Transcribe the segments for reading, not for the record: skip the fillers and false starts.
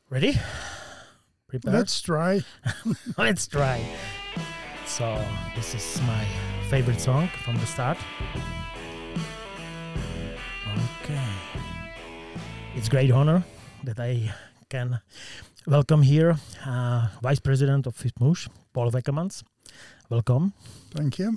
Ready? Prepared? Let's try. Let's try. So this is my favorite song from the start. Okay. It's great honor that I can welcome here Vice President of FITMUSH, Paul Wekkermans. Welcome. Thank you.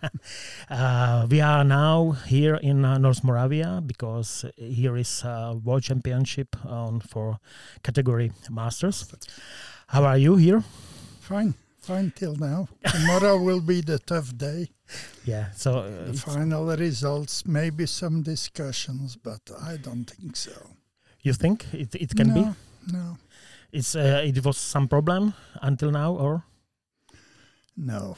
We are now here in North Moravia because here is World Championship for category Masters. How are you here? Fine till now. Tomorrow will be the tough day. Yeah, so the final results, maybe some discussions, but I don't think so. You think it can be? No. It was some problem until now, or? No,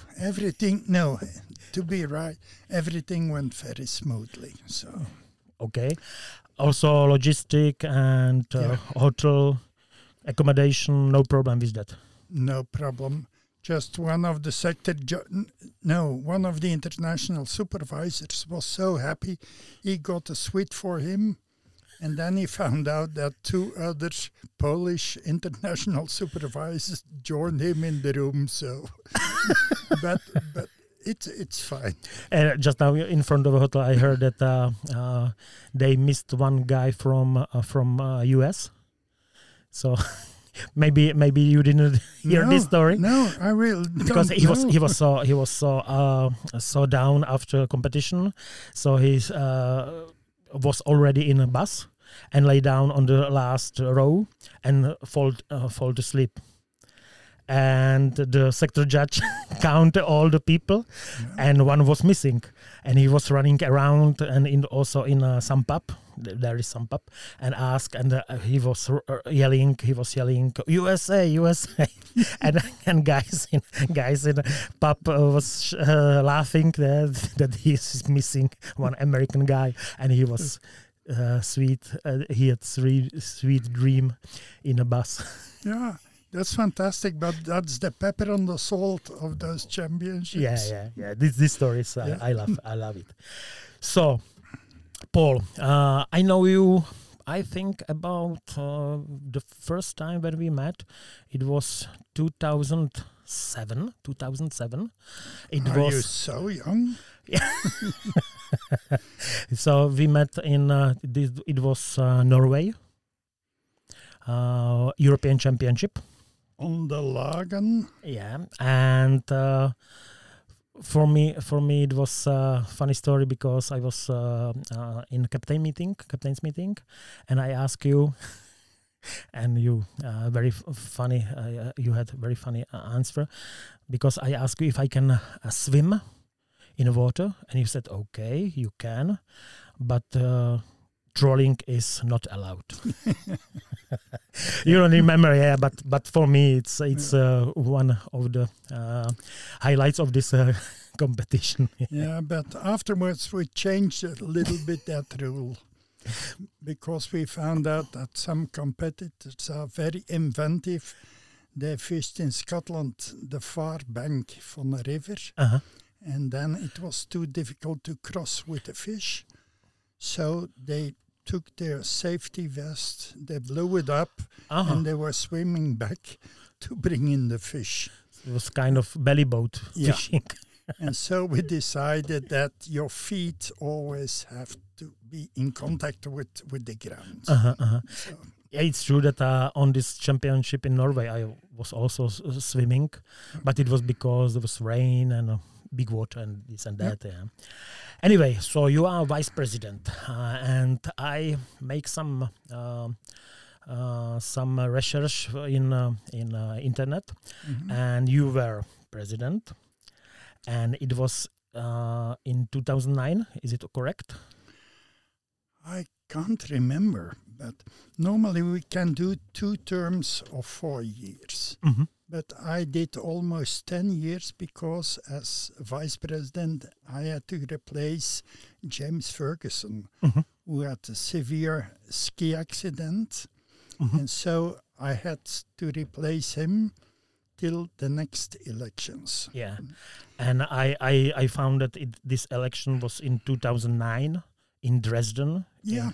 to be right, everything went very smoothly. So okay. Also logistic and hotel accommodation, no problem with that? No problem. Just one of the one of the international supervisors was so happy he got a suite for him. And then he found out that two other Polish international supervisors joined him in the room. So, but it's fine. Just now in front of the hotel, I heard that they missed one guy from US. So maybe you didn't hear this story. No, I will. Because he was so down after competition, so he was already in a bus and lay down on the last row and fall asleep. And the sector judge counted all the people, and one was missing. And he was running around and also in some pub. There is some pub, and asked, and he was yelling. He was yelling, "USA, USA!" and guys in pub was laughing that he is missing one American guy, and he was sweet. He had sweet dream in a bus. Yeah. That's fantastic, but that's the pepper on the salt of those championships. Yeah. This story is I love it. So, Paul, I know you. I think about the first time when we met, it was 2007. 2007. Are you so young? Yeah. So we met in it was Norway, European Championship. On the Lagan. Yeah, and for me it was a funny story because I was in captain's meeting, and I asked you, and you very funny. You had very funny answer because I asked you if I can swim in the water, and you said okay, you can, but trolling is not allowed. You don't remember, yeah, but for me it's one of the highlights of this competition. Yeah, but afterwards we changed a little bit that rule because we found out that some competitors are very inventive. They fished in Scotland the far bank from a river, and then it was too difficult to cross with the fish. So they took their safety vest, they blew it up, and they were swimming back to bring in the fish. It was kind of belly boat fishing. And so we decided that your feet always have to be in contact with the ground. So. Yeah, it's true that on this championship in Norway, I was also swimming, but it was because there was rain and big water and this and that. Yeah. Anyway, so you are vice president, and I make some research in internet, and you were president, and it was in 2009. Is it correct? I can't remember, but normally we can do 2 terms of 4 years. But I did almost 10 years because as vice president, I had to replace James Ferguson, who had a severe ski accident. And so I had to replace him till the next elections. Yeah. And I found that this election was in 2009 in Dresden. Yeah.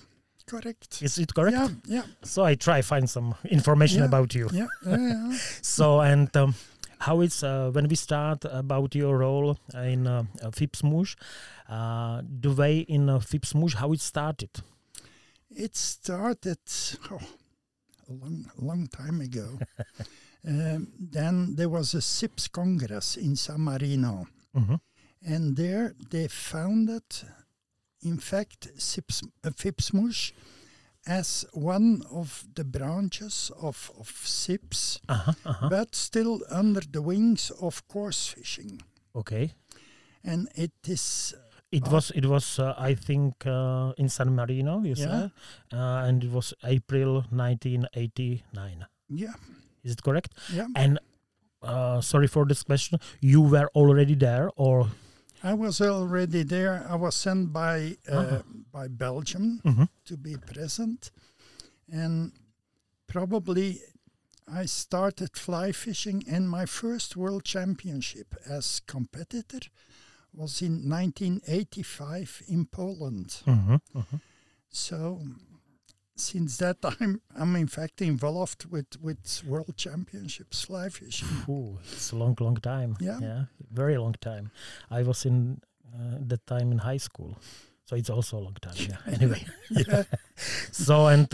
correct. Is it correct? Yeah, yeah. So I try find some information about you. Yeah, yeah. So, and how it's when we start about your role in FIPS-MUSH, the way in FIPS-MUSH, how it started? It started a long time ago. Then there was a SIPS Congress in San Marino. Mm-hmm. And there they founded, in fact, FIPS-MUSH as one of the branches of SIPS, but still under the wings of course fishing. Okay. And it is... It was I think, in San Marino, you said, and it was April 1989. Yeah. Is it correct? Yeah. And sorry for this question, you were already there, or? I was already there. I was sent by Belgium to be present. And probably I started fly fishing, and my first world championship as competitor was in 1985 in Poland. So since that time, I'm in fact involved with world championships fly fishing. Ooh, it's a long time. Yeah. Very long time. I was in that time in high school, so it's also a long time. Yeah. Anyway. Yeah. So and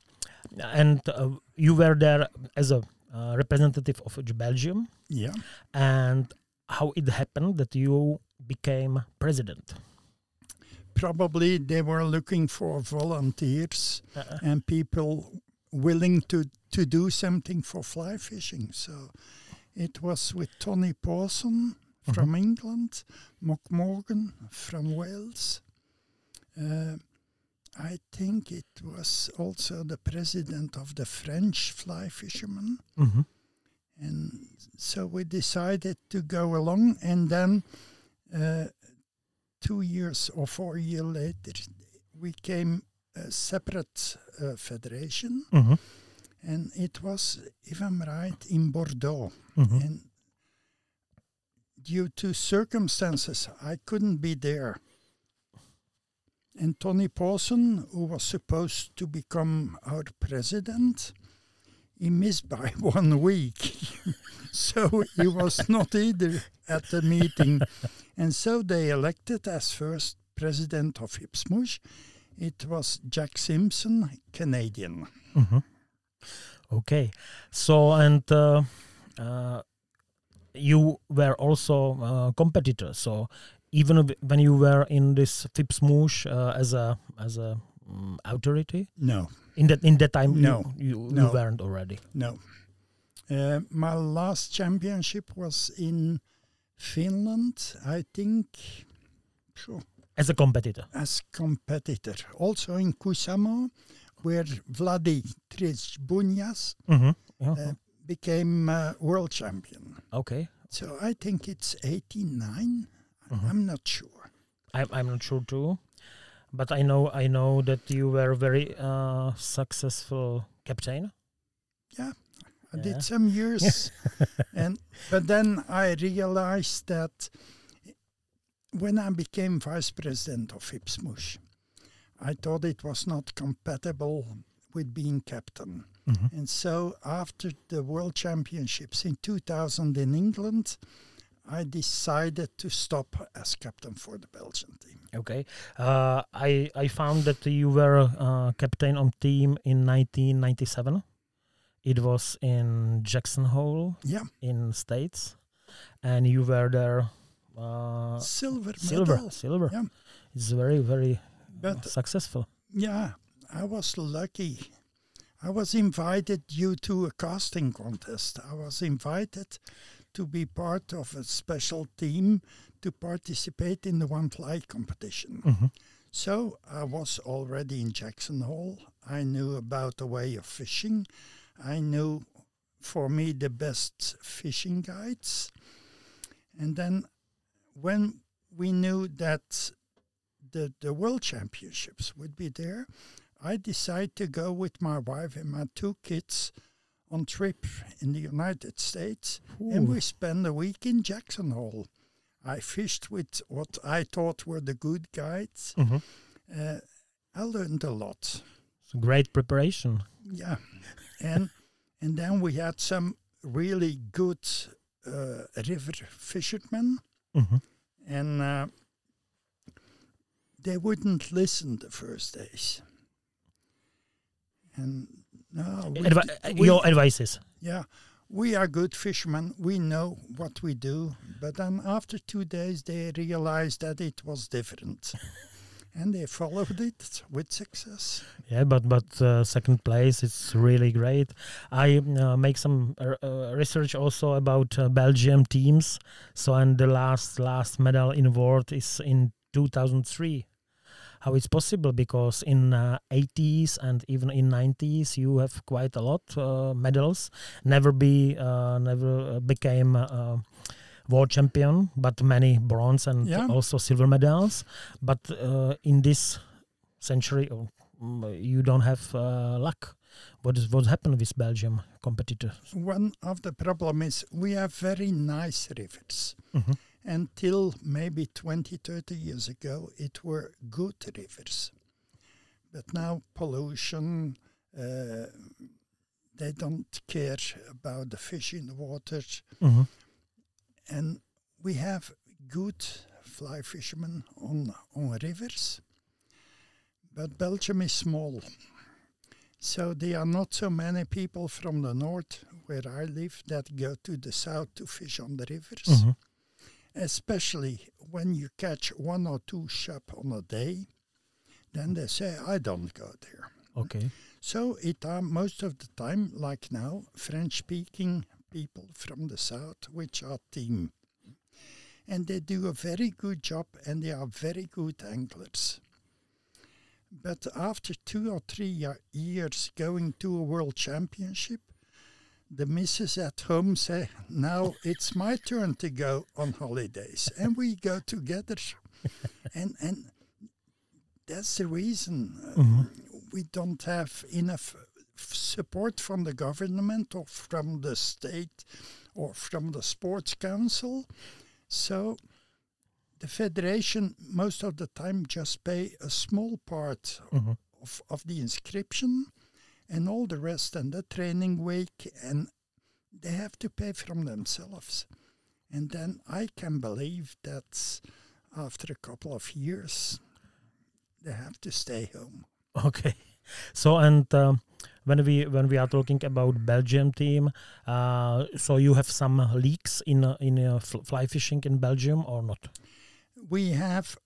you were there as a representative of Belgium. Yeah. And how it happened that you became president? Probably they were looking for volunteers and people willing to do something for fly fishing. So it was with Tony Pawson from England, Mock Morgan from Wales. I think it was also the president of the French fly fishermen. And so we decided to go along, and then 2 years or 4 years later, we came a separate federation, and it was, if I'm right, in Bordeaux. And due to circumstances, I couldn't be there. And Tony Pawson, who was supposed to become our president, he missed by 1 week. So he was not either at the meeting. And so they elected as first president of FIPS-MUSH. It was Jack Simpson, Canadian. Okay. So, and you were also a competitor. So even when you were in this FIPS-MUSH as a authority? No. In that time, No. You weren't already? No. My last championship was in Finland, I think. As a competitor? As competitor. Also in Kuusamo, where Vladi Tritsbunjas became world champion. Okay. So I think it's 89. I'm not sure. I'm not sure too. But I know that you were very successful captain. Yeah, I did some years, but then I realized that when I became vice president of FIPS-MUSH, I thought it was not compatible with being captain. And so after the World Championships in 2000 in England, I decided to stop as captain for the Belgian team. Okay. I found that you were captain on team in 1997. It was in Jackson Hole in States. And you were there... Silver. Yeah. It's very, very successful. Yeah, I was lucky. I was invited due to a casting contest. I was invited to be part of a special team to participate in the one fly competition. So I was already in Jackson Hole. I knew about the way of fishing. I knew, for me, the best fishing guides. And then when we knew that the World Championships would be there, I decided to go with my wife and my 2 kids on trip in the United States. And we spent a week in Jackson Hole. I fished with what I thought were the good guides. I learned a lot. So great preparation. Yeah, and then we had some really good river fishermen, Mhm. and they wouldn't listen the first days. And no, Your advices. yeah, we are good fishermen. We know what we do. But then after 2 days, they realized that it was different. And they followed it with success. Yeah, but second place, it's really great. I make some research also about Belgium teams. So, and the last medal in world is in 2003. How it's possible? Because in 80s and even in 90s, you have quite a lot medals. Never became world champion, but many bronze and also silver medals. But in this century, you don't have luck. What happened with Belgium competitors? One of the problem is we have very nice rivers. Mm-hmm. Until maybe 20, 30 years ago, it were good rivers. But now pollution, they don't care about the fish in the water. Mm-hmm. And we have good fly fishermen on rivers. But Belgium is small. So there are not so many people from the north, where I live, that go to the south to fish on the rivers. Mm-hmm. Especially when you catch 1 or 2 shap on a day, then they say, I don't go there. Okay. So it are most of the time, like now, French-speaking people from the south, which are team. And they do a very good job, and they are very good anglers. But after 2 or 3 years going to a world championship, the missus at home say, now it's my turn to go on holidays. And we go together. and that's the reason we don't have enough support from the government or from the state or from the sports council. So the federation most of the time just pay a small part of the inscription, and all the rest and the training week, and they have to pay from themselves. And then I can believe that after a couple of years, they have to stay home. Okay. So, and when we are talking about Belgium team, so you have some leagues in fly fishing in Belgium or not? We have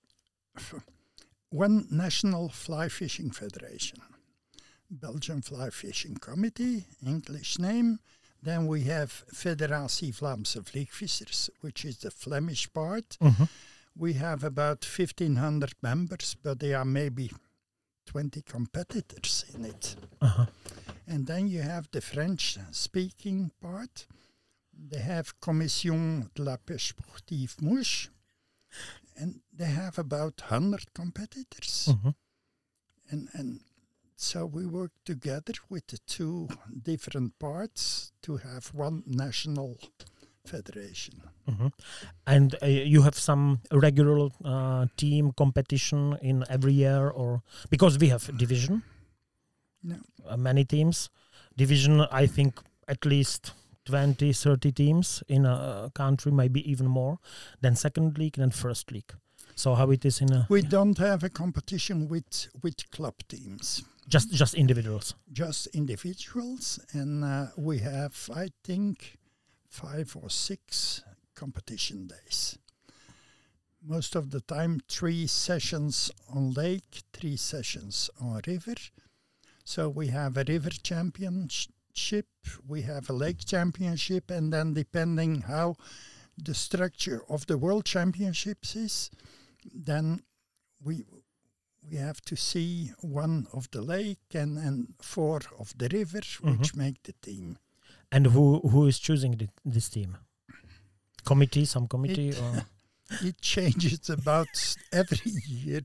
one national fly fishing federation. Belgian Fly Fishing Committee, English name. Then we have Federatie Vlaamse Vliegvissers, which is the Flemish part. Mm-hmm. We have about 1,500 members, but there are maybe 20 competitors in it. Uh-huh. And then you have the French-speaking part. They have Commission de la Pêche Sportive Mouche, and they have about 100 competitors. Mm-hmm. And so we work together with the 2 different parts to have one national federation. Mm-hmm. And you have some regular team competition in every year, or because we have division? No. Many teams. Division, I think at least 20, 30 teams in a country, maybe even more, then second league, then first league. So how it is in a... We don't have a competition with club teams. Just individuals? Just individuals, and we have, I think, 5 or 6 competition days. Most of the time, 3 sessions on lake, 3 sessions on river. So we have a river championship, we have a lake championship, and then depending how the structure of the world championships is, then we have to see 1 of the lake and 4 of the river, which make the team. And who is choosing this team? Committee, some committee? Or? It changes about every year.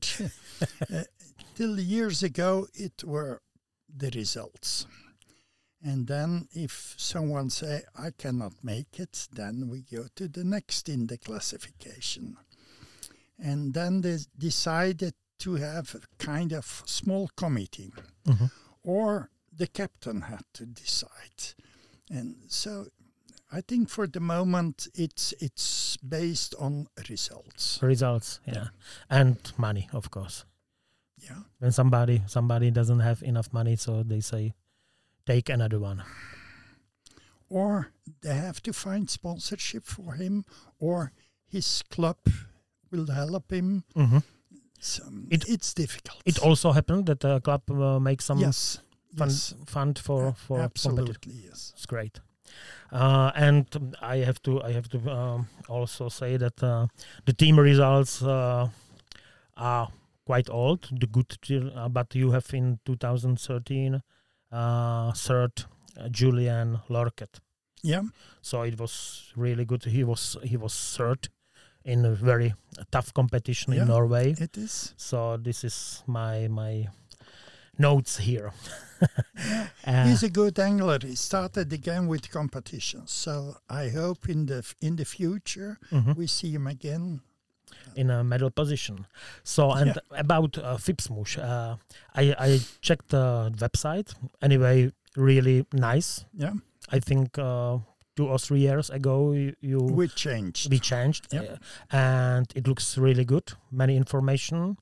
Till years ago, it were the results. And then if someone say, I cannot make it, then we go to the next in the classification. And then they decided to have a kind of small committee, or the captain had to decide. And so I think for the moment it's based on results. Results, yeah. And money, of course. Yeah. When somebody doesn't have enough money, so they say, take another one. Or they have to find sponsorship for him, or his club will help him. So it's difficult. It also happened that the club makes some fund for absolutely, yes. It's great. And I have to also say that the team results are quite old. The good, but you have in 2013 third Julian Lorket. Yeah. So it was really good. He was third in a very tough competition in Norway. It is. So this is my notes here. He's a good angler. He started again with competitions. So I hope in the future we see him again in a medal position. So and about Fipsmush, I checked the website. Anyway, really nice. Yeah. I think 2 or 3 years ago we changed. And it looks really good. Many information.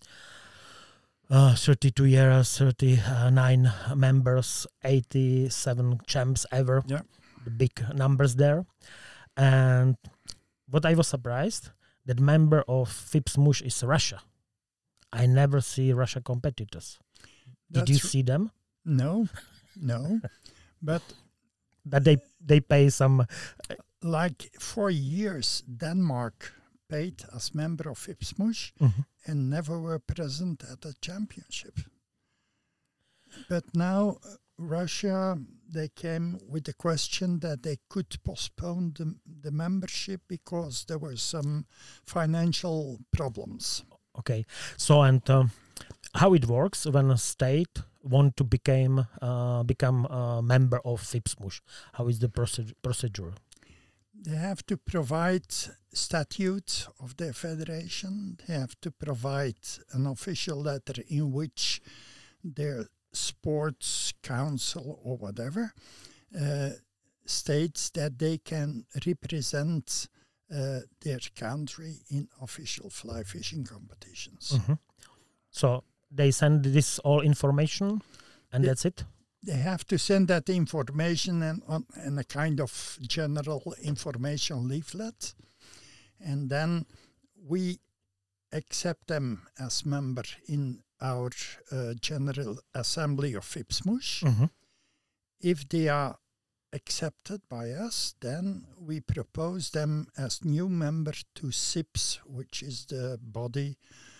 32 years, 39 members, 87 champs ever. Yeah. The big numbers there. And what I was surprised, that member of Fipsmush is Russia. I never see Russia competitors. Did you see them? No. But that they pay some... Like for years, Denmark paid as member of Fipsmush and never were present at the championship. But now Russia, they came with the question that they could postpone the membership because there were some financial problems. Okay. So, and how it works when a state want to become a member of Fipsmush? How is the procedure? They have to provide statute of their federation. They have to provide an official letter in which their sports council or whatever states that they can represent their country in official fly fishing competitions. So they send this all information and that's it? They have to send that information and a kind of general information leaflet. And then we accept them as member in our General Assembly of Fipsmush. If they are accepted by us, then we propose them as new member to SIPS, which is the body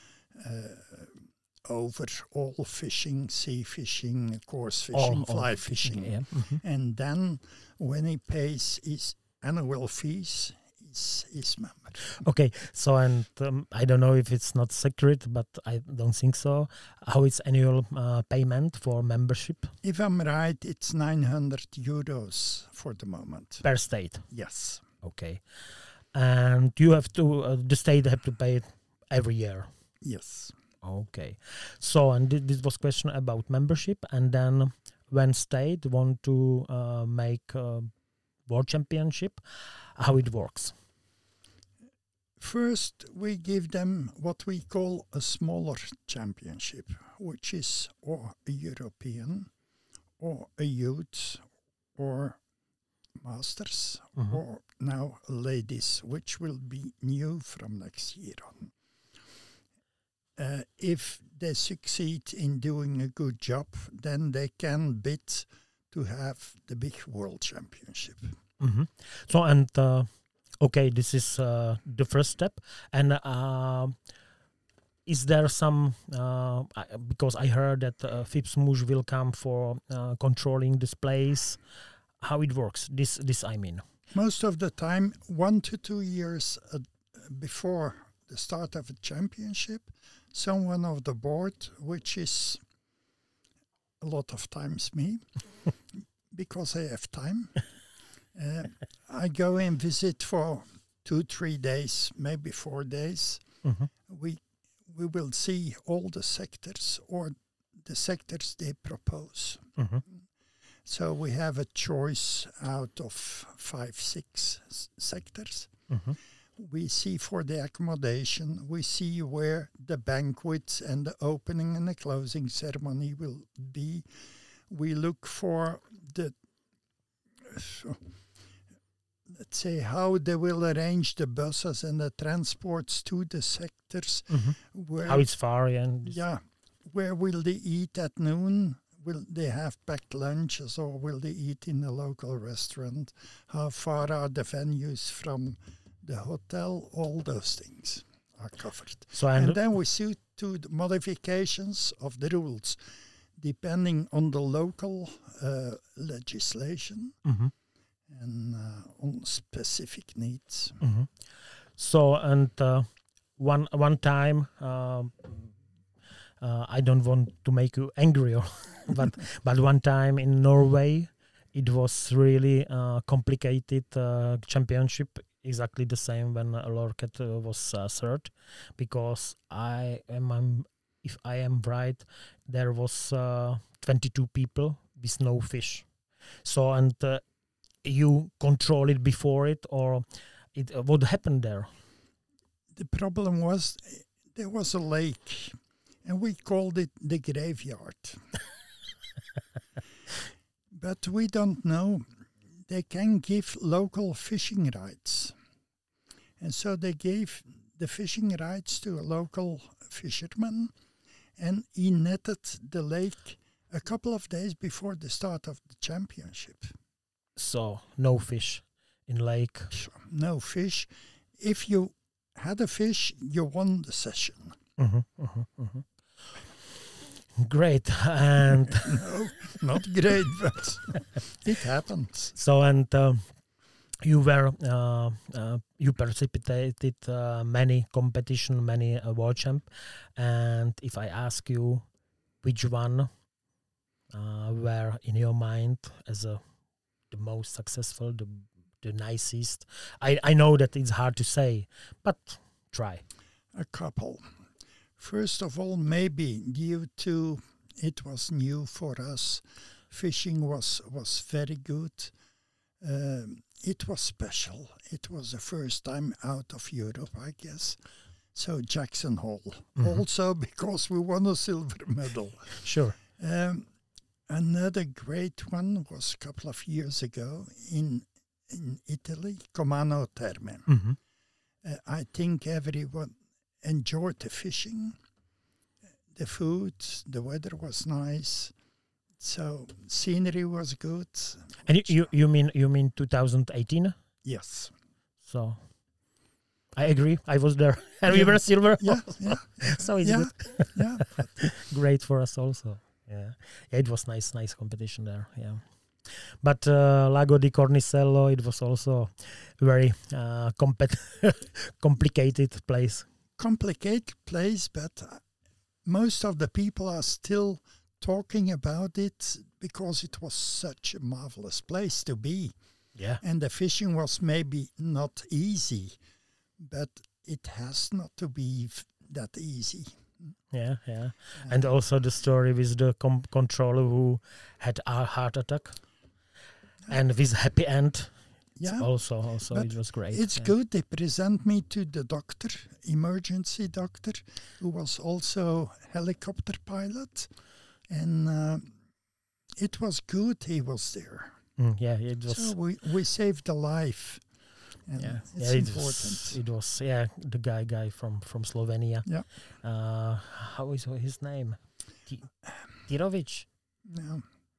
over all fishing, sea fishing, coarse fishing, fly fishing. Yeah. And then when he pays his annual fees, he's member. Okay, so and I don't know if it's not secret, but I don't think so. How is annual payment for membership? If I'm right, it's 900 euros for the moment. Per state? Yes. Okay. And you have to, the state have to pay it every year? Yes. Okay. So, and this was question about membership, and then when state want to make a world championship, how it works? First, we give them what we call a smaller championship, which is or a European, or a youth, or masters, or now ladies, which will be new from next year on. If they succeed in doing a good job, then they can bid to have the big world championship. So, and okay, this is the first step. And is there some, because I heard that Fipsmush will come for controlling this place, how it works, this I mean. Most of the time, 1 to 2 years before the start of a championship, someone of the board, which is a lot of times me, because I have time, I go and visit for 2-3 days, maybe 4 days. we will see all the sectors or the sectors they propose. Mm-hmm. So we have a choice out of 5, 6 sectors. Mm-hmm. We see for the accommodation, we see where the banquets and the opening and the closing ceremony will be. We look for let's say how they will arrange the buses and the transports to the sectors. Mm-hmm. Where, How it's far and yeah, where will they eat at noon? Will they have packed lunches or will they eat in a local restaurant? How far are the venues from the hotel? All those things are covered. so And then we see to the modifications of the rules, depending on the local legislation mm-hmm. and on specific needs. Mm-hmm. So and one time. I don't want to make you angry, but one time in Norway, it was really complicated championship. Exactly the same when Lorcat was third, because if I am right, there was 22 people with no fish. So and you control it before it, or what happened there? The problem was there was a lake. And we called it the graveyard. But we don't know. They can give local fishing rights. And so they gave the fishing rights to a local fisherman. And he netted the lake a couple of days before the start of the championship. So no fish in lake. No fish. If you had a fish, you won the session. Mm-hmm, mm-hmm, mm-hmm. Great, and no, not great, but it happens. So and you were you participated many competition, many world champ, and if I ask you which one were in your mind as the most successful, the nicest, I know that it's hard to say, but try. A couple. First of all, maybe due to it was new for us, fishing was very good. It was special. It was the first time out of Europe, I guess. So Jackson Hole, also because we won a silver medal. Sure. Another great one was a couple of years ago in Italy, Comano Terme. Mm-hmm. I think everyone enjoyed the fishing, the food, the weather was nice, so scenery was good. And you mean 2018? Yes. So I agree. I was there, and we were silver. Yeah. So it's good. Yeah. Great for us also. Yeah, it was nice competition there. Yeah. But Lago di Cornicello, it was also very complicated place. Complicated place, but most of the people are still talking about it because it was such a marvelous place to be. Yeah. And the fishing was maybe not easy, but it has not to be that easy. Yeah. And also the story with the controller who had a heart attack. And with happy end. Yeah. Also it was great. It's good. They present me to the doctor, emergency doctor, who was also helicopter pilot. And it was good he was there. It was. So we saved a life. And it's important. It was the guy from Slovenia. Yeah. How is his name? Tirovic? No.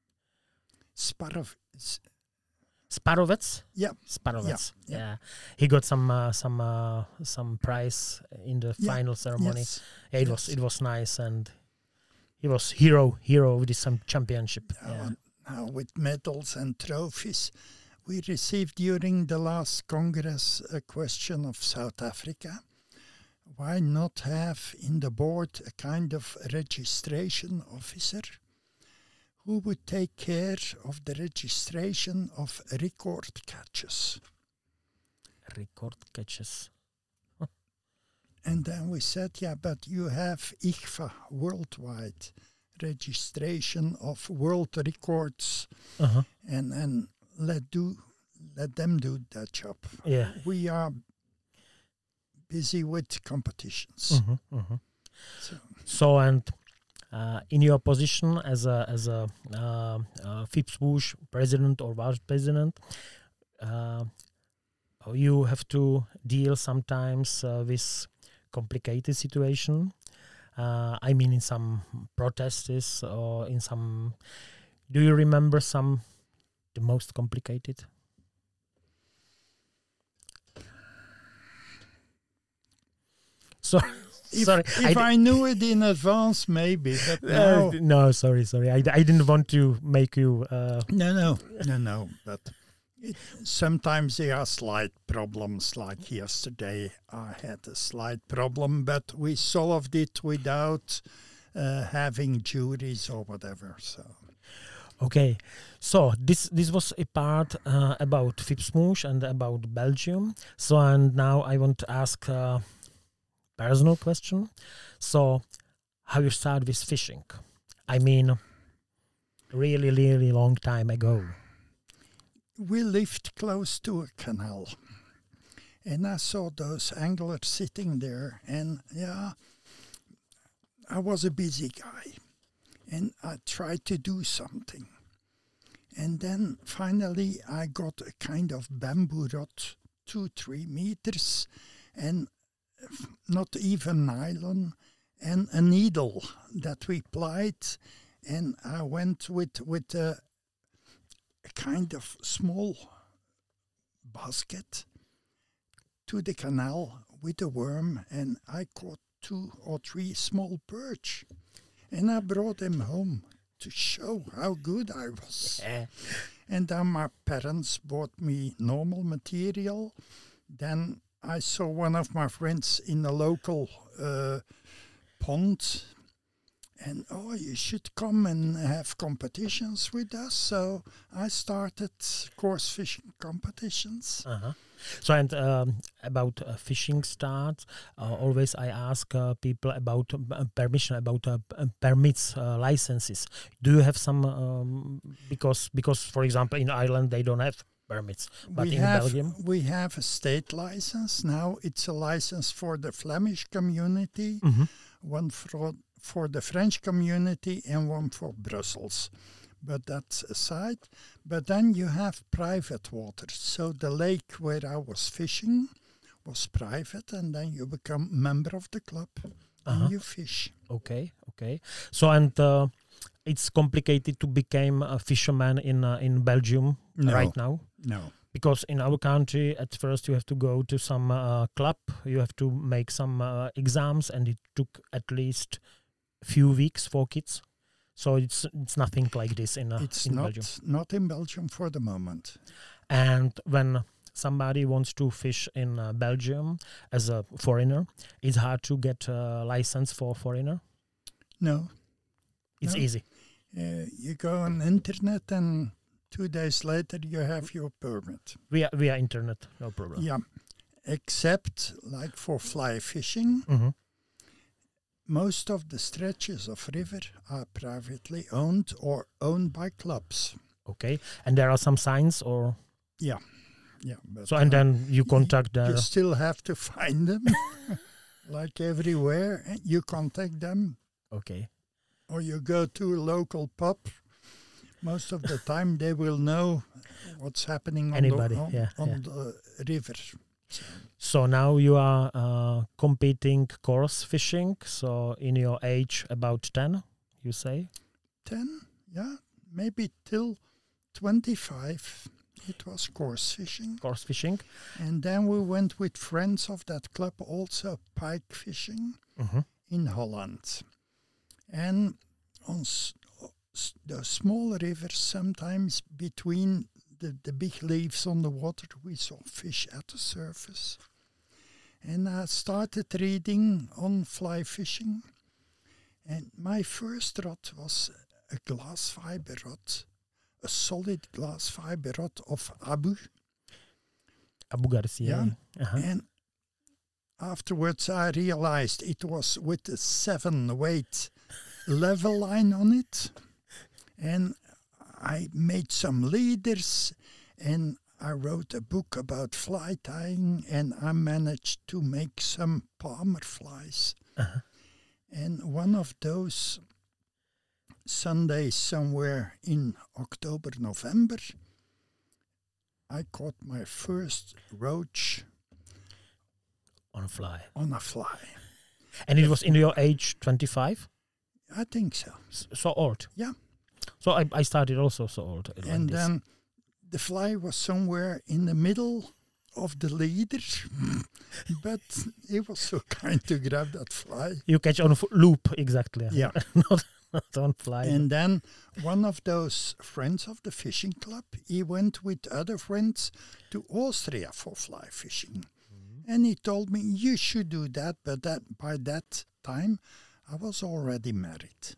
Sparovets? Yeah. Sparovets. Yeah. He got some prize in the final ceremony. Yes. Yeah, it was nice, and he was hero of this championship. Now with medals and trophies. We received during the last Congress a question of South Africa. Why not have in the board a kind of registration officer who would take care of the registration of record catches? Record catches. And then we said, yeah, but you have ICFA worldwide registration of world records, and let them do that job. Yeah. We are busy with competitions. So and in your position as a FIPSWOOSH president or vice president, you have to deal sometimes with complicated situation. I mean, in some protests or in some. Do you remember the most complicated? Sorry. If I knew it in advance, maybe. But now, no, sorry. I didn't want to make you. No. But sometimes there are slight problems. Like yesterday, I had a slight problem, but we solved it without having juries or whatever. So. Okay, so this was a part about FIPSWOOSH and about Belgium. So and now I want to ask a personal question. So how you start with fishing? I mean, really long time ago. We lived close to a canal, and I saw those anglers sitting there, and I was a busy guy, and I tried to do something. And then finally I got a kind of bamboo rod, 2-3 meters, and not even nylon, and a needle that we plied, and I went with a kind of small basket to the canal with a worm, and I caught 2 or 3 small perch, and I brought them home to show how good I was. And then my parents bought me normal material. Then I saw one of my friends in a local pond, and you should come and have competitions with us. So I started course fishing competitions. So and about fishing starts, always I ask people about permission, about permits, licenses. Do you have some? Because for example in Ireland they don't have permits, but in Belgium we have a state license now. It's a license for the Flemish community, one for the French community, and one for Brussels. But that's aside. But then you have private water. So the lake where I was fishing was private, and then you become member of the club and you fish. Okay. So and it's complicated to become a fisherman in Belgium right now. No. Because in our country, at first you have to go to some club, you have to make some exams, and it took at least few weeks for kids. So it's nothing like this in Belgium. It's not in Belgium for the moment. And when somebody wants to fish in Belgium as a foreigner, it's hard to get a license for foreigner? No. It's easy. You go on internet, and 2 days later you have your permit. Via internet, no problem. Yeah, except like for fly fishing. Most of the stretches of river are privately owned or owned by clubs. Okay, and there are some signs, or? Yeah. But so and then you contact them. You still have to find them, like everywhere. You contact them. Okay. Or you go to a local pub. Most of the time they will know what's happening on the river. So now you are competing course fishing. So in your age, about 10, you say? 10, yeah, maybe till 25. It was course fishing. Course fishing. And then we went with friends of that club also pike fishing in Holland. And on the small rivers, sometimes between the big leaves on the water, we saw fish at the surface. And I started reading on fly fishing. And my first rod was a glass fiber rod, a solid glass fiber rod of Abu Garcia. Yeah. And afterwards I realized it was with a 7-weight level line on it. And I made some leaders, and I wrote a book about fly tying, and I managed to make some palmer flies. Uh-huh. And one of those Sundays somewhere in October, November, I caught my first roach On a fly. on a fly. And it was in your age 25? I think so. So old? Yeah. So I started also so old. Like And this. then the fly was somewhere in the middle of the leader, but he was so kind to grab that fly. You catch on loop, exactly. Yeah. not on fly. And then one of those friends of the fishing club, he went with other friends to Austria for fly fishing. And he told me, you should do that, but by that time, I was already married.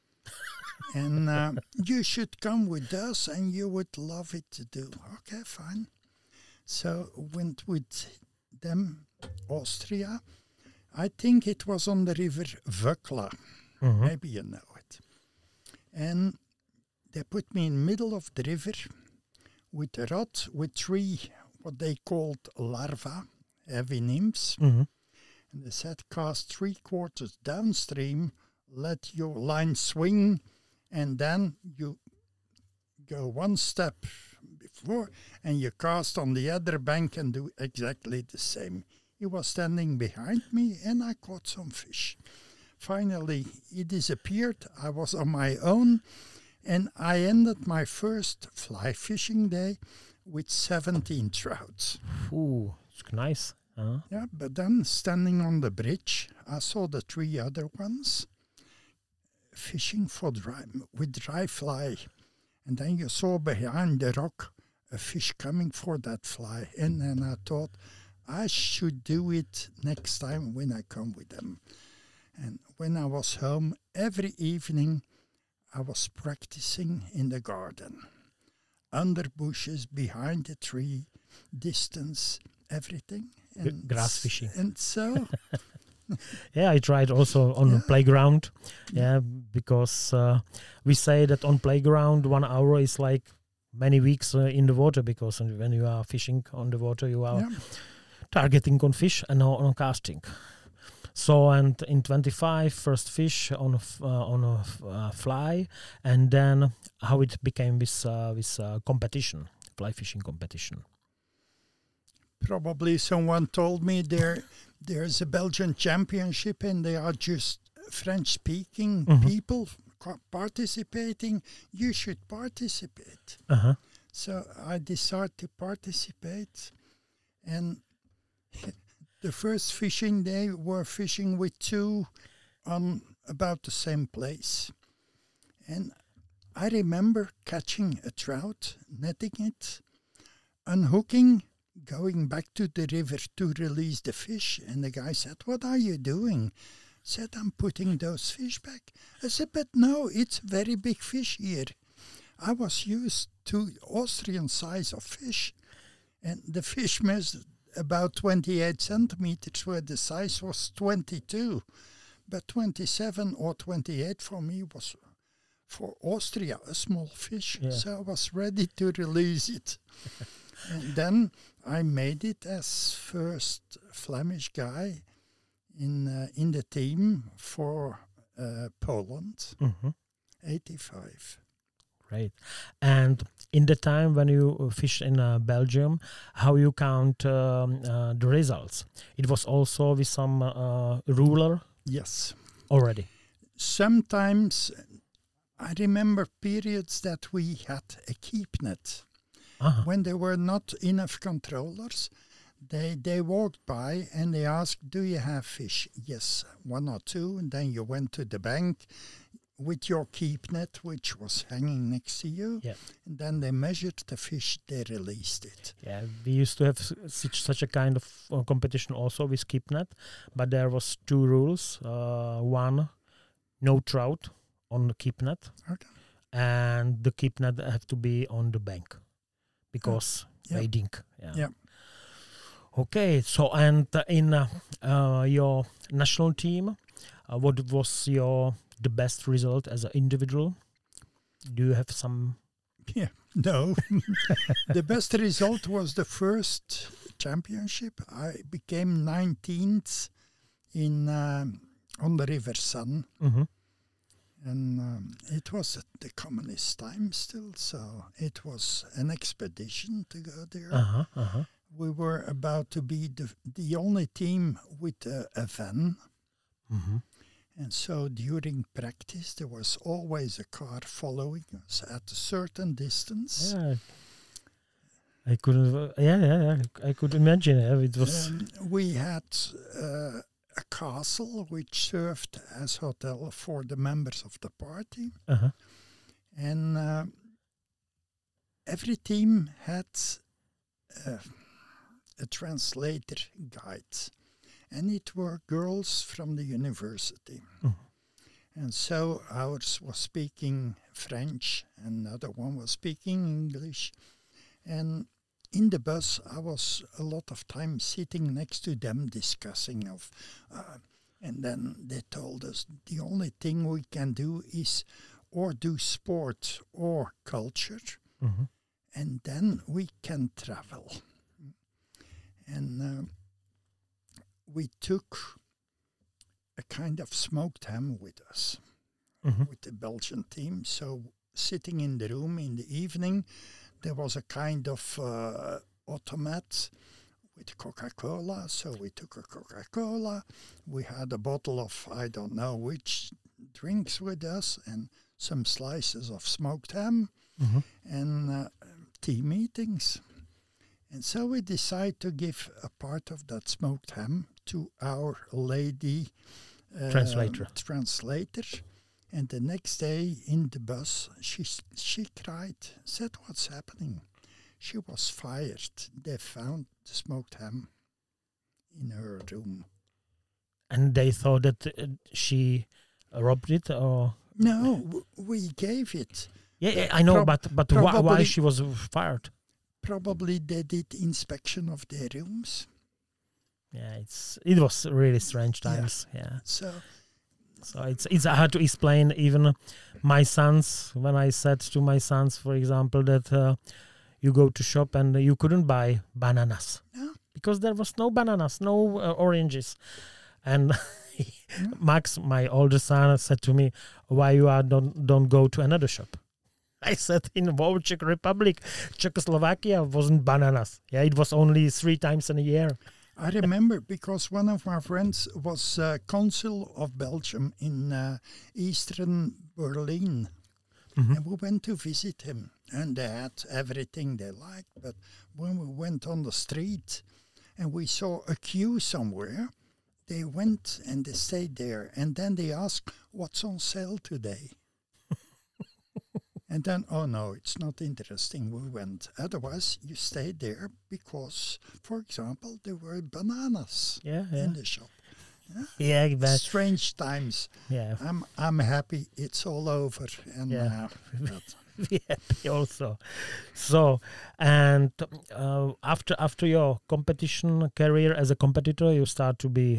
And you should come with us, and you would love it to do. Okay, fine. So went with them, Austria. I think it was on the river Vöckla. Mhm. Maybe you know it. And they put me in the middle of the river with a rod with 3, what they called larvae, heavy nymphs. Mhm. And they said, cast 3/4 downstream, let your line swing, and then you go one step before, and you cast on the other bank and do exactly the same. He was standing behind me, and I caught some fish. Finally, he disappeared. I was on my own, and I ended my first fly fishing day with 17 trouts. Ooh, it's nice. Huh? Yeah, but then standing on the bridge, I saw the 3 other ones fishing with dry fly. And then you saw behind the rock a fish coming for that fly. And then I thought, I should do it next time when I come with them. And when I was home, every evening I was practicing in the garden. Under bushes, behind the tree, distance, everything. And Grass fishing. And so, Yeah, I tried also on the playground. Yeah, because we say that on playground 1 hour is like many weeks in the water, because when you are fishing on the water, you are targeting on fish and on casting. So, and in 25, first fish on a fly, and then how it became this competition, fly fishing competition. probably someone told me there's a Belgian championship and they are just French-speaking people participating. You should participate. Uh-huh. So I decided to participate. And the first fishing day, we're fishing with 2 on about the same place. And I remember catching a trout, netting it, unhooking, going back to the river to release the fish. And the guy said, "What are you doing?" I said, "I'm putting those fish back." I said, "But no, it's very big fish here." I was used to Austrian size of fish. And the fish measured about 28 centimeters, where the size was 22. But 27 or 28 for me was, for Austria, a small fish. Yeah. So I was ready to release it. And then I made it as first Flemish guy in the team for Poland, 85. Right. And in the time when you fish in Belgium, how you count the results? It was also with some ruler Yes. already. Sometimes I remember periods that we had a keep net. Uh-huh. When there were not enough controllers, they walked by and they asked, "Do you have fish?" Yes, 1 or 2. And then you went to the bank with your keep net, which was hanging next to you. Yeah. And then they measured the fish, they released it. Yeah, we used to have such a kind of competition also with keep net, but there was 2 rules. One, no trout on the keep net, Okay. and the keep net have to be on the bank because Yeah. wading. Yeah. Yeah. Okay, so and in your national team, what was the best result as an individual? Do you have some? Yeah, no. The best result was the first championship. I became 19th in on the River Sun. Mm-hmm. And it was at the communist time still, so it was an expedition to go there. We were about to be the only team with a van. Mm-hmm. And so during practice, there was always a car following us at a certain distance. Yeah. I could, I could imagine it was. We had a castle which served as hotel for the members of the party. And every team had a translator guide, and it were girls from the university. And so ours was speaking French, and the other one was speaking English. And in the bus, I was a lot of time sitting next to them discussing of, and then they told us the only thing we can do is or do sport or culture, and then we can travel. And we took a kind of smoked ham with us, with the Belgian team. So sitting in the room in the evening, there was a kind of automat with Coca-Cola. So we took a Coca-Cola. We had a bottle of I don't know which drinks with us and some slices of smoked ham and tea meetings. And so we decided to give a part of that smoked ham to our lady translator. And the next day in the bus, she cried, said, "What's happening?" She was fired. They found the smoked ham in her room. And they thought that she robbed it, or? No, we gave it. Yeah, I know, but why she was fired? Probably they did inspection of their rooms. Yeah, it was really strange times. Yeah. So it's hard to explain. Even my sons, when I said to my sons, for example, that you go to shop and you couldn't buy bananas because there was no bananas, no oranges, and Max, my older son, said to me, "Why you don't go to another shop?" I said, in the Czech Republic, Czechoslovakia wasn't bananas. Yeah, it was only 3 times in a year. I remember because one of my friends was consul of Belgium in Eastern Berlin. And we went to visit him. And they had everything they liked. But when we went on the street and we saw a queue somewhere, they went and they stayed there. And then they asked, "What's on sale today?" And then, "Oh no, it's not interesting." We went. Otherwise, you stayed there because, for example, there were bananas in the shop. Yeah, but strange times. Yeah, I'm happy it's all over. And we happy also. So, and after your competition career as a competitor, you start to be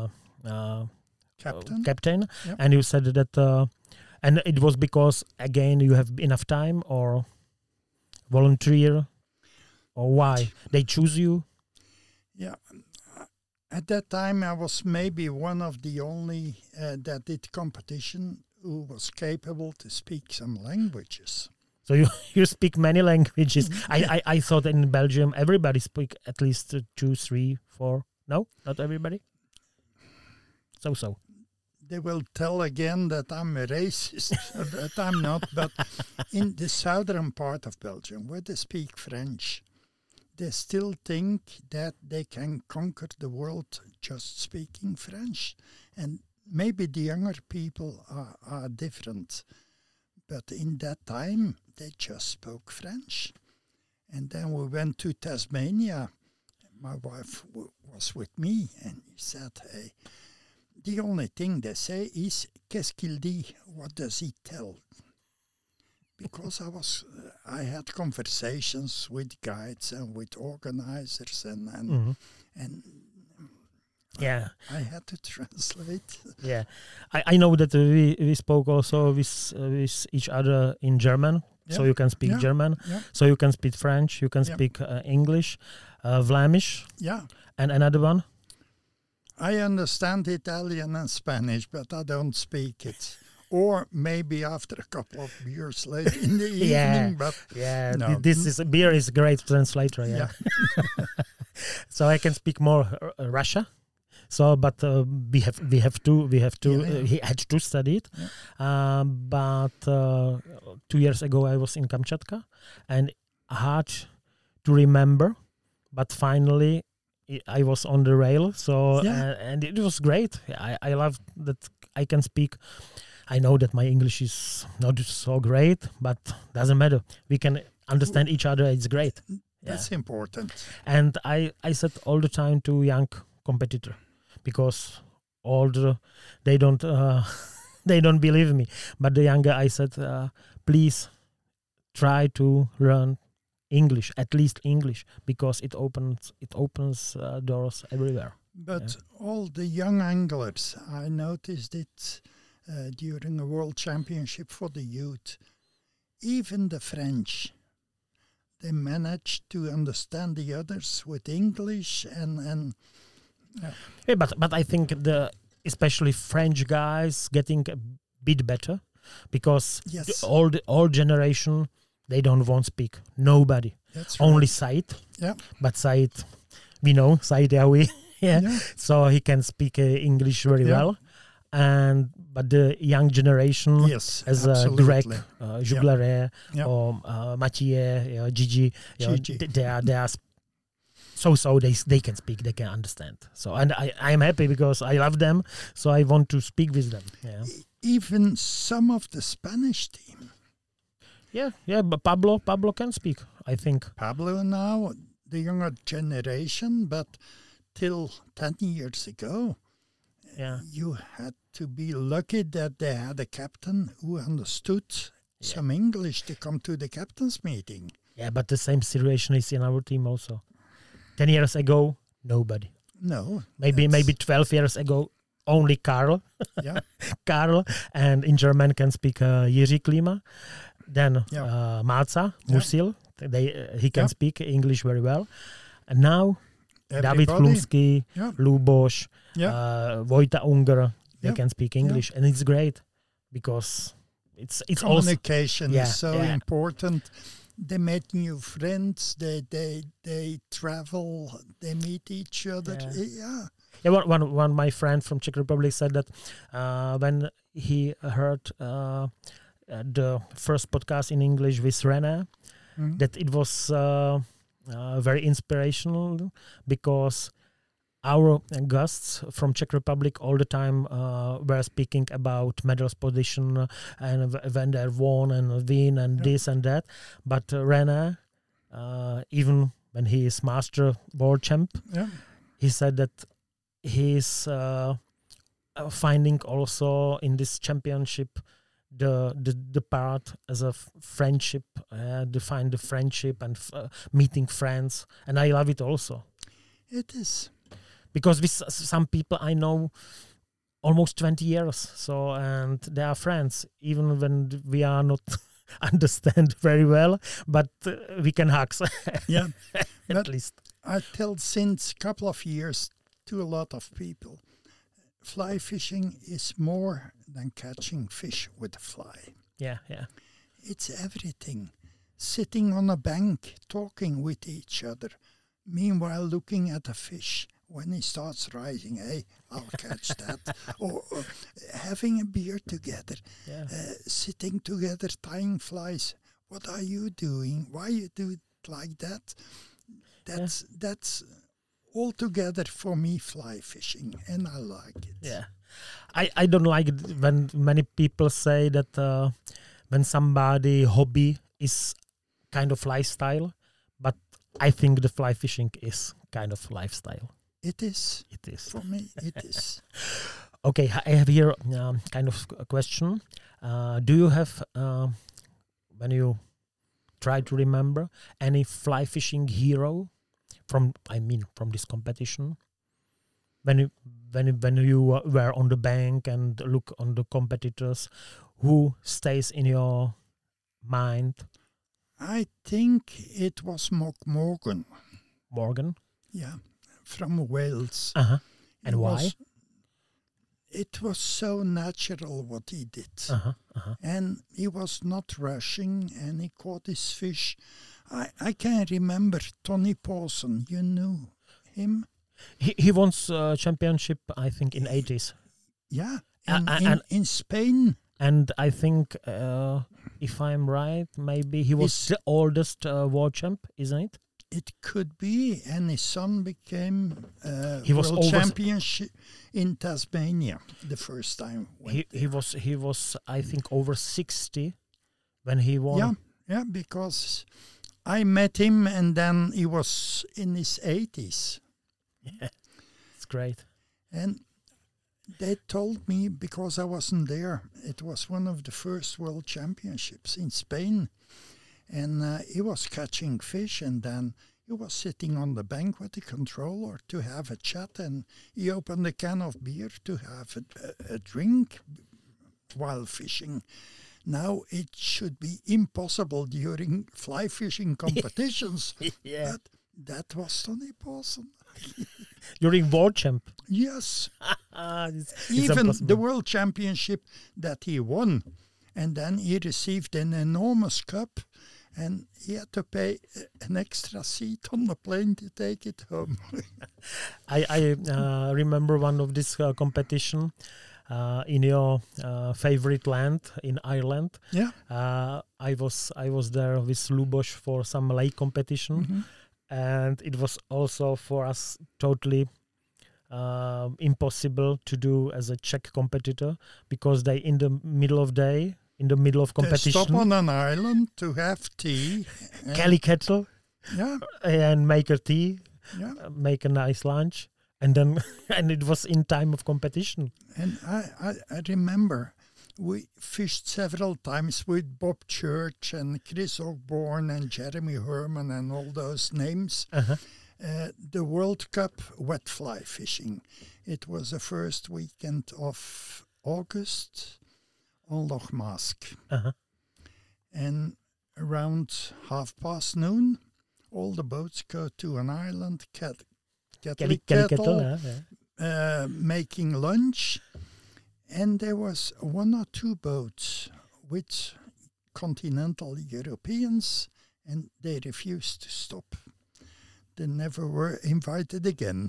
captain, and you said that. And it was because, again, you have enough time or volunteer, or why? They choose you? Yeah. At that time, I was maybe one of the only that did competition who was capable to speak some languages. So you speak many languages. I thought in Belgium everybody speak at least 2, 3, 4. No, not everybody? So. They will tell again that I'm a racist, that I'm not. But in the southern part of Belgium, where they speak French, they still think that they can conquer the world just speaking French. And maybe the younger people are different. But in that time, they just spoke French. And then we went to Tasmania. My wife was with me, and he said, "Hey, the only thing they say is, qu'est-ce qu'il dit? What does he tell?" because I had conversations with guides and with organizers and Yeah. I had to translate. Yeah, I know that we spoke also with each other in German, so Yeah. you can speak Yeah. German, Yeah. so you can speak French, you can Yeah. speak English, Vlaamish, Yeah. and another one. I understand Italian and Spanish, but I don't speak it. Or maybe after a couple of beers late in the Yeah. evening, but Yeah, no. this is beer is a great translator. Yeah, so I can speak more Russia. So, but we have to Yeah. he had to study it. Yeah. But 2 years ago I was in Kamchatka, and hard to remember, but finally I was on the rail. So and it was great. I love that I can speak. I know that my English is not so great, but doesn't matter. We can understand each other. It's great. That's important. And I said all the time to young competitor, because they don't they don't believe me. But the younger I said, please try to learn English, at least English, because it opens doors everywhere. But all the young anglers, I noticed it during a world championship for the youth. Even the French, they managed to understand the others with English and Yeah, but I think especially French guys getting a bit better, because yes, the old generation, they don't want to speak. Nobody. that's Only right. Said. Yeah. But Said, we know Said Yawi. Yeah. Yeah. So he can speak English very Yeah. well. But the young generation, Yes, as Greg, Juglaret, or Mathieu, Gigi, Gigi. they are so they can speak, they can understand. So, and I'm happy because I love them, so I want to speak with them. Yeah, Even some of the Spanish team. yeah. But Pablo can speak, I think. Pablo now, the younger generation, but till 10 years ago, Yeah, you had to be lucky that they had a captain who understood some English to come to the captain's meeting. yeah. But the same situation is in our team also. 10 years ago, nobody. No. Maybe 12 years ago, only Karl. Yeah. Karl, and in German can speak Jiří Klima. Then Máca, Musil, he can speak English very well. And now David Chlumský, Luboš, Vojta Unger, they can speak English, and it's great because it's communication also, is so important. They make new friends. They travel. They meet each other. Yeah. Yeah, one my friend from Czech Republic said that when he heard the first podcast in English with René, that it was very inspirational, because our guests from Czech Republic all the time were speaking about medals position and when they won and win and this and that. But René, even when he is master world champ, he said that he's finding also in this championship the part as a friendship, to find the friendship and meeting friends, and I love it also. It is. Because with some people I know almost 20 years, so, and they are friends, even when we are not understand very well, but we can hug. Yeah, at least. I tell since a couple of years to a lot of people, fly fishing is more than catching fish with a fly. Yeah. It's everything. Sitting on a bank, talking with each other, meanwhile looking at a fish. When he starts rising, hey, I'll catch that. or having a beer together, sitting together, tying flies. What are you doing? Why you do it like that? That's all together for me fly fishing, and I like it. Yeah, I don't like it when many people say that when somebody hobby is kind of lifestyle, but I think the fly fishing is kind of lifestyle. It is. It is. For me, it is. Okay, I have here kind of a question. Do you have when you try to remember any fly fishing hero from this competition? When you were on the bank and look on the competitors, who stays in your mind? I think it was Morgan. Morgan? Yeah, from Wales. Uh-huh. And why? It was so natural what he did. Uh-huh. Uh-huh. And he was not rushing, and he caught his fish. I can remember Tony Paulson. You knew him? He won championship, I think, in 80s. Yeah, in Spain. And I think, if I'm right, maybe he was the oldest world champ, isn't it? It could be, and his son became he was world championship in Tasmania the first time. He was I think over 60 when he won. Yeah, because I met him, and then he was in his 80s. Yeah, it's great. And they told me, because I wasn't there, it was one of the first world championships in Spain. And he was catching fish, and then he was sitting on the bank with the controller to have a chat, and he opened a can of beer to have a drink while fishing. Now, it should be impossible during fly fishing competitions, yeah. but that was Tony Paulson. During world champ? Yes. it's Even impossible. the world championship that he won, and then he received an enormous cup, and he had to pay an extra seat on the plane to take it home. I remember one of this competition in your favorite land in Ireland. Yeah. I was there with Luboš for some lake competition, and it was also for us totally impossible to do as a Czech competitor, because they in the middle of competition, they stop on an island to have tea, Kelly kettle, and make a tea, make a nice lunch, and then and it was in time of competition. And I remember we fished several times with Bob Church and Chris Osborne and Jeremy Herman and all those names. The World Cup wet fly fishing. It was the first weekend of August on Loch Mask. And around noon, all the boats go to an island, Kelly Kettle, making lunch. And there was one or two boats with continental Europeans, and they refused to stop. They never were invited again.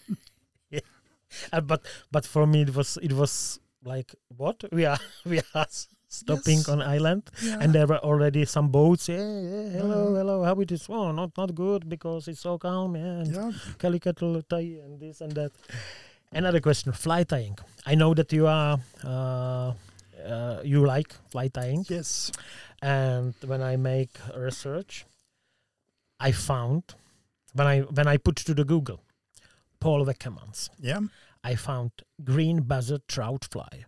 But for me it was like, what we are stopping on island, and there were already some boats. Hello, how it is? Oh, not good, because it's so calm. And Kelly kettle tie and this and that. Another question: fly tying. I know that you are you like fly tying. Yes. And when I make research, I found when I put to the Google Paul Wekemans. Yeah. I found green buzzer trout fly.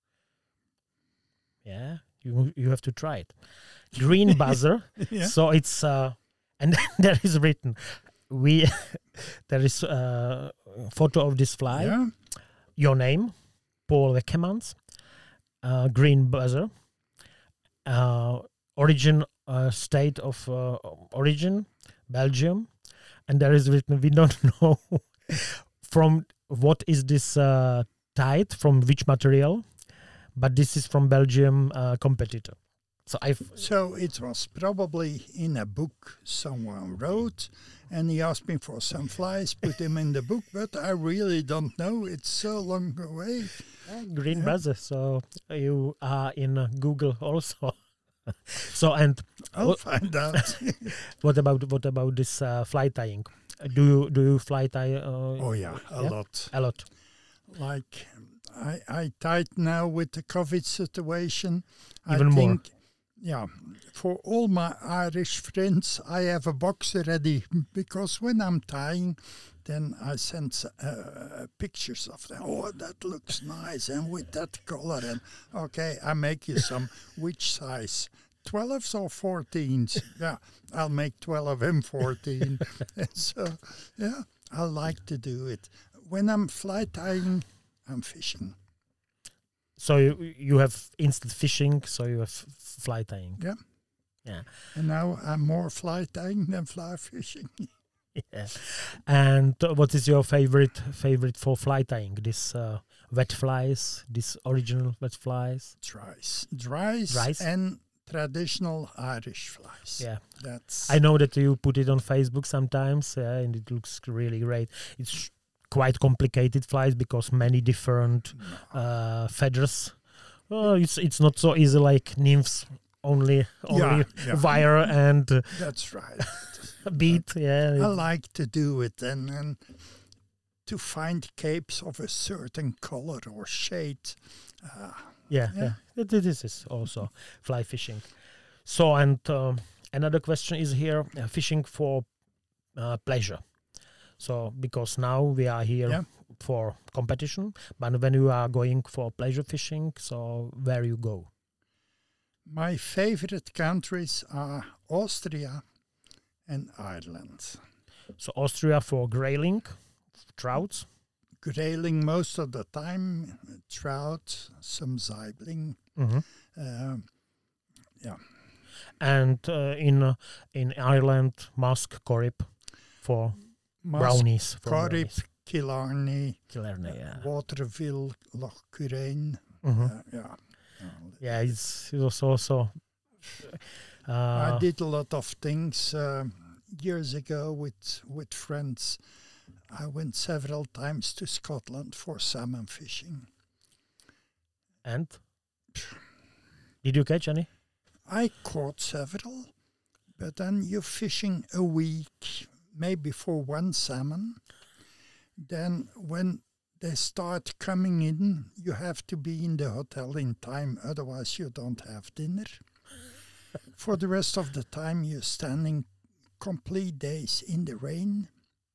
Yeah, you have to try it. Green buzzer. So it's and there is written there is a photo of this fly. Yeah. Your name, Paul Wekemans. Green buzzer. Origin, state of origin, Belgium, and there is written, we don't know from what is this tied, from which material, but this is from Belgium competitor. So it was probably in a book someone wrote, and he asked me for some flies, put them in the book, but I really don't know. It's so long away. Green buzzer. So you are in Google also. So and I'll find out. What about this fly tying? Do you fly tie? A lot. Like I tied now with the COVID situation. Even more. Yeah, for all my Irish friends, I have a box ready, because when I'm tying, then I send pictures of them. Oh, that looks nice, and with that color, and okay, I make you some. Which size? 12s or 14s. Yeah, I'll make 12 and 14. And so, yeah, I like to do it. When I'm fly tying, I'm fishing. So you have instant fishing, so you have fly tying. Yeah. Yeah. And now I'm more fly tying than fly fishing. Yeah. And what is your favorite for fly tying? This wet flies, this original wet flies? Dries and traditional Irish flies. Yeah. That's. I know that you put it on Facebook sometimes, and it looks really great. It's quite complicated flies because many different feathers. Oh, it's not so easy like nymphs. Only wire and that's right. bead. Yeah, I like to do it and to find capes of a certain color or shade. This is also fly fishing. So, and another question is here: fishing for pleasure. So, because now we are here for competition, but when you are going for pleasure fishing, so where you go? My favorite countries are Austria and Ireland. So Austria for grayling, trouts? Grayling most of the time, trout, some Saibling. Mm-hmm. Yeah. And in Ireland, musk, corrib for brownies. Corrib, Killarney, Waterville, Loch Currain. It was also. I did a lot of things years ago with friends. I went several times to Scotland for salmon fishing. And did you catch any? I caught several, but then you're fishing a week, maybe for one salmon. Then when they start coming in, you have to be in the hotel in time, otherwise you don't have dinner. For the rest of the time, you're standing complete days in the rain.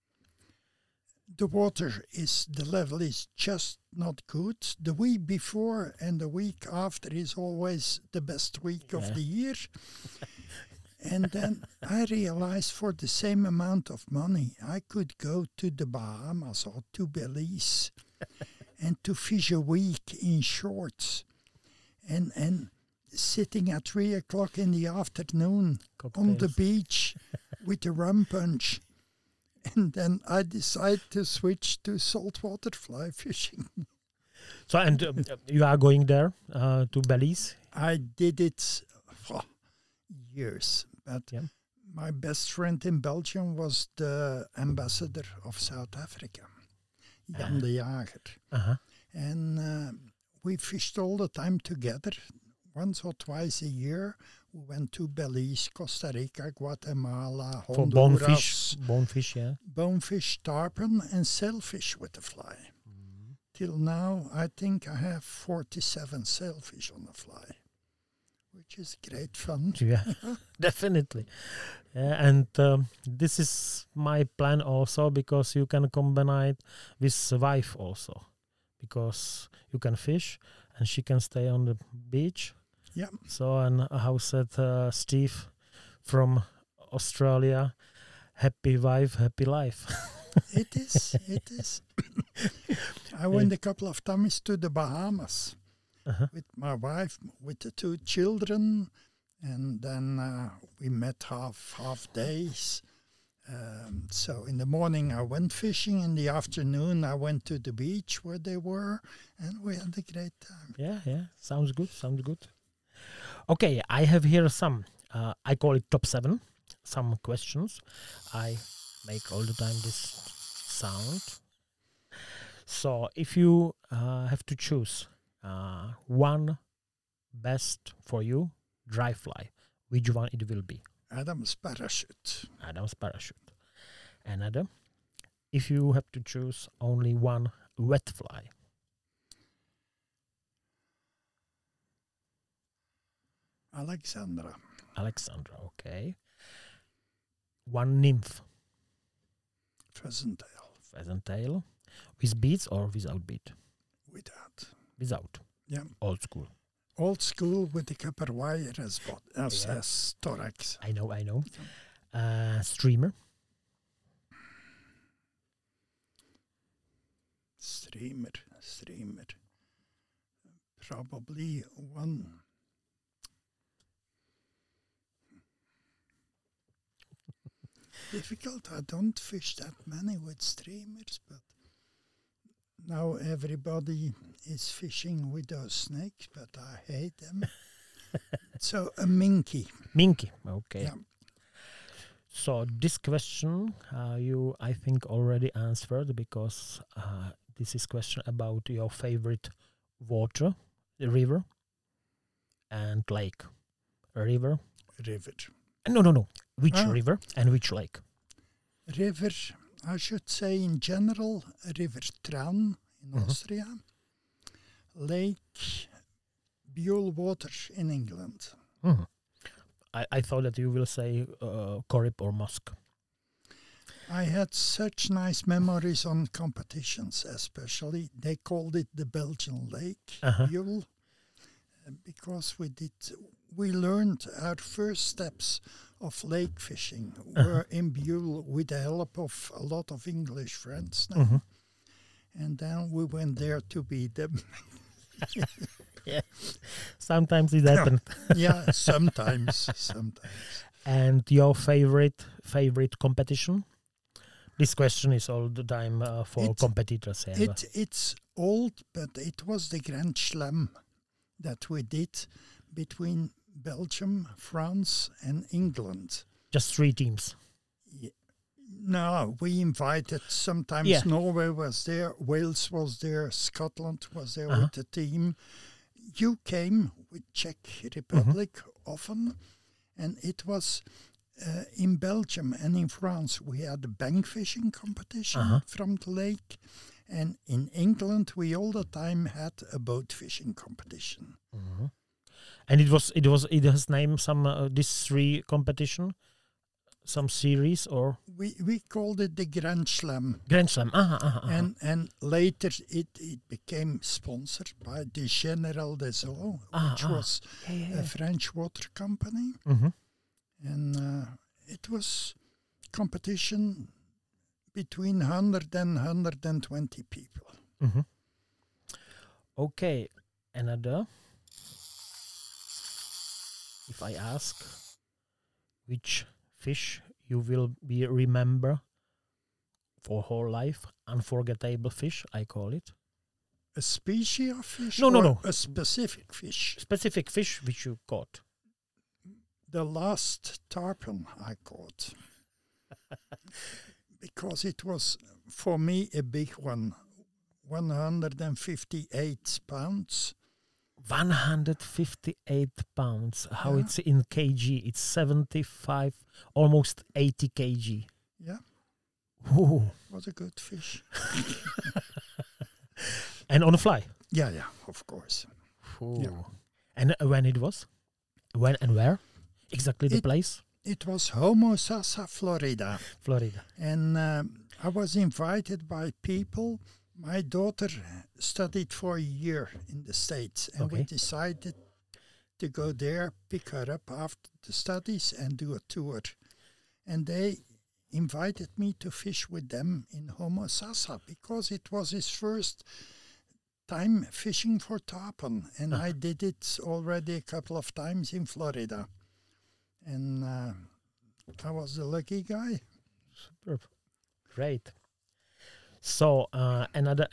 The level is just not good. The week before and the week after is always the best week of the year. And then I realized for the same amount of money, I could go to the Bahamas or to Belize and to fish a week in shorts and sitting at 3 o'clock in the afternoon on the beach with a rum punch. And then I decided to switch to saltwater fly fishing. So, and you are going there to Belize? I did it for years. But my best friend in Belgium was the ambassador of South Africa, Jan de Jager. And we fished all the time together. Once or twice a year, we went to Belize, Costa Rica, Guatemala, Honduras. For bonefish, Bonefish, tarpon, and sailfish with the fly. Till now, I think I have 47 sailfish on the fly, which is great fun. Yeah, definitely. And this is my plan also, because you can combine it with wife also, because you can fish and she can stay on the beach. Yeah. So, and how said Steve from Australia, happy wife, happy life. It is. I went a couple of times to the Bahamas with my wife, with the 2 children, and then we met half days. So in the morning I went fishing, in the afternoon I went to the beach where they were, and we had a great time. Yeah, sounds good. Okay, I have here some, I call it top 7, some questions. I make all the time this sound. So if you have to choose one best for you dry fly, which one it will be? Adam's parachute. Another, if you have to choose only one wet fly? Alexandra, okay. One nymph? Pheasant tail. With beads or without bead? Without. Without. Yeah. Old school. Old school with the copper wire as thorax. I know. Streamer. Streamer. Probably one. Difficult. I don't fish that many with streamers, but now everybody is fishing with those snakes, but I hate them. So a minky. Minky. Okay. Yeah. So this question you, I think, already answered, because this is question about your favorite water, the river and lake. River. No. Which river and which lake? River, I should say in general, River Tran in Austria. Lake Buellwater in England. I thought that you will say Corrib or Musk. I had such nice memories on competitions, especially. They called it the Belgian Lake, Buell, because we learned our first steps of lake fishing were in Buell with the help of a lot of English friends now. And then we went there to beat them. Yeah, sometimes it happens. Yeah, sometimes. And your favorite competition? This question is all the time for competitors. It's old, but it was the Grand Slam that we did between Belgium, France, and England. Just 3 teams. Yeah. No, we invited. Sometimes Norway was there, Wales was there, Scotland was there with the team. You came with Czech Republic often, and it was in Belgium and in France we had a bank fishing competition from the lake, and in England we all the time had a boat fishing competition. And it has named some this 3 competition, some series, or we called it the Grand Slam. Grand Slam. And later it became sponsored by the General des Eaux, which was a French water company. And it was competition between 100 and 120 people. Okay, another. If I ask which fish you will remember for whole life, unforgettable fish, I call it. A species of fish? No. A specific fish? Specific fish which you caught. The last tarpon I caught. Because it was, for me, a big one. 158 pounds. 158 pounds. How it's in kg? It's 75, almost 80 kg. Yeah. Ooh. Was a good fish. And on a fly? Yeah, of course. Yeah. And when it was? When and where? Exactly the place? It was Homosassa, Florida. And I was invited by people. My daughter studied for a year in the States, and we decided to go there, pick her up after the studies, and do a tour. And they invited me to fish with them in Homosassa because it was his first time fishing for tarpon, and I did it already a couple of times in Florida. And I was the lucky guy. Superb. Great. So another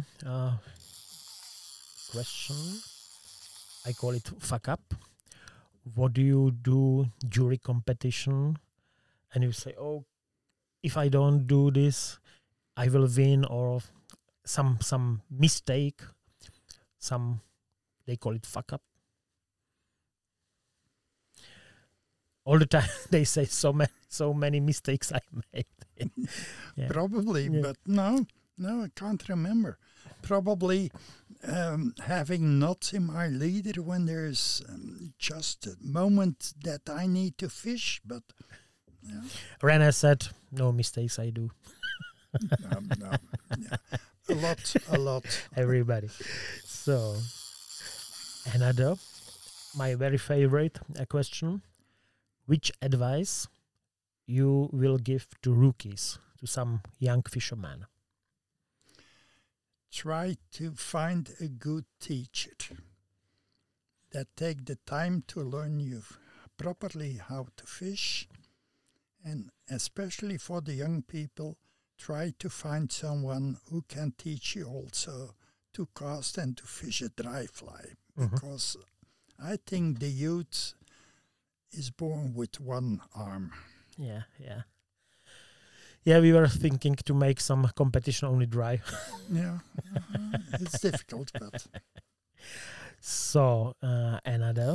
question. I call it fuck up. What do you do during competition? And you say, oh, if I don't do this, I will win, or some mistake. They call it fuck up. All the time they say so many mistakes I made. Yeah. Probably, but no, I can't remember. Probably having knots in my leader when there's just a moment that I need to fish, but yeah. René said, no mistakes I do. No. Yeah. A lot. Everybody. So, another my very favorite question. Which advice you will give to rookies, to some young fishermen? Try to find a good teacher that take the time to learn you properly how to fish. And especially for the young people, try to find someone who can teach you also to cast and to fish a dry fly. Because I think the youth is born with one arm. Yeah. Yeah, we were thinking to make some competition only dry. Yeah, it's difficult, but... So, another...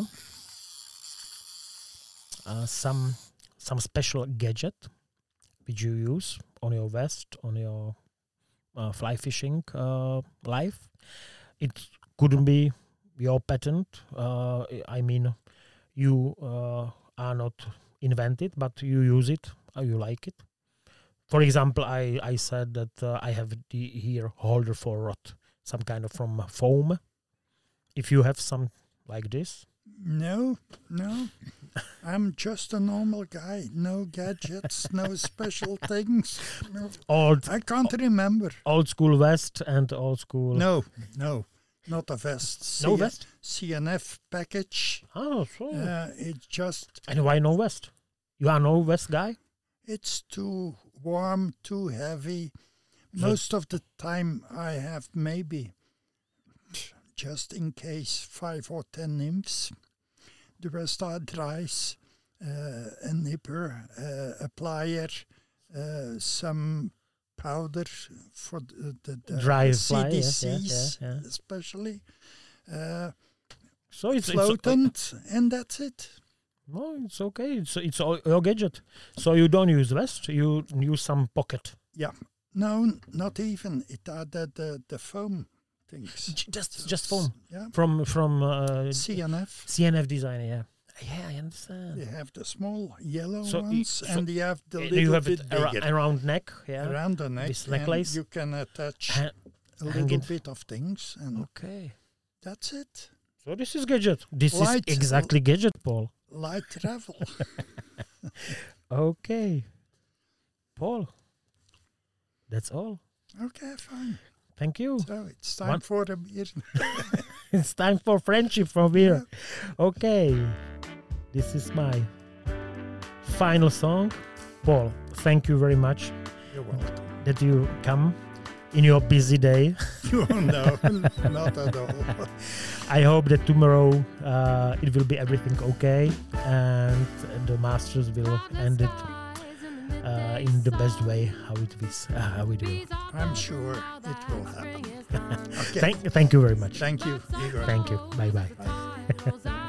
some special gadget which you use on your vest, on your fly fishing life. It couldn't be your patent. I mean, you are not invented, but you use it. You like it. For example, I said that I have here holder for rod, some kind of from foam. If you have some like this. No. I'm just a normal guy. No gadgets, no special things. No. I can't remember. Old school vest and old school... No, not a vest. No vest? CNF package. Oh, so... It's just... And why no vest? You are no vest guy? It's too warm, too heavy. Most of the time I have maybe... just in case 5 or 10 nymphs. The rest are dries, a nipper, a plier, some powder for the dry fly, CDCs, especially. So it's floatant, and that's it. No, it's okay. It's all your gadget. So you don't use vest. You use some pocket. Yeah. No, not even. It are the foam things. Just foam. Yeah. From CNF design. Yeah, I understand. They have the small yellow ones, and you have the little you have bit it bigger around neck. Yeah, around the neck. This necklace. You can attach a little bit of things, and okay, that's it. So this is gadget. This is exactly gadget, Paul. Light travel. Okay, Paul. That's all. Okay, fine. Thank you. So it's time for a beer. It's time for friendship from here. Okay. This is my final song. Paul, thank you very much. You're welcome. That you come in your busy day. No, not at all. I hope that tomorrow it will be everything okay and the Masters will end it in the best way how we do. I'm sure it will happen. Okay. Thank you very much. Thank you, Igor. Thank you. Bye. Bye.